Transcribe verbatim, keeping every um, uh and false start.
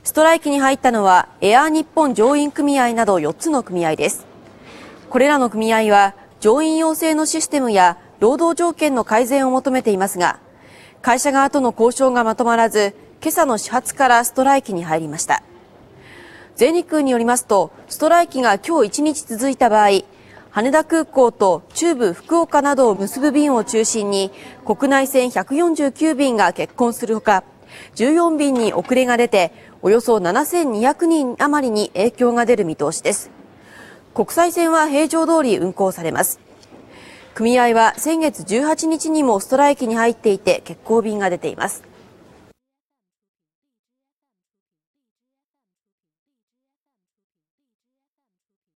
ストライキに入ったのはエアー日本乗員組合などよっつの組合です。これらの組合は乗員養成のシステムや労働条件の改善を求めていますが、会社側との交渉がまとまらず、今朝の始発からストライキに入りました。全日空によりますと、ストライキが今日いちにち続いた場合、羽田空港と中部福岡などを結ぶ便を中心に国内線ひゃくよんじゅうきゅうびんが欠航するほか、じゅうよんびんに遅れが出ておよそななせんにひゃくにん余りに影響が出る見通しです。国際線は平常通り運航されます。組合は先月じゅうはちにちにもストライキに入っていて欠航便が出ています。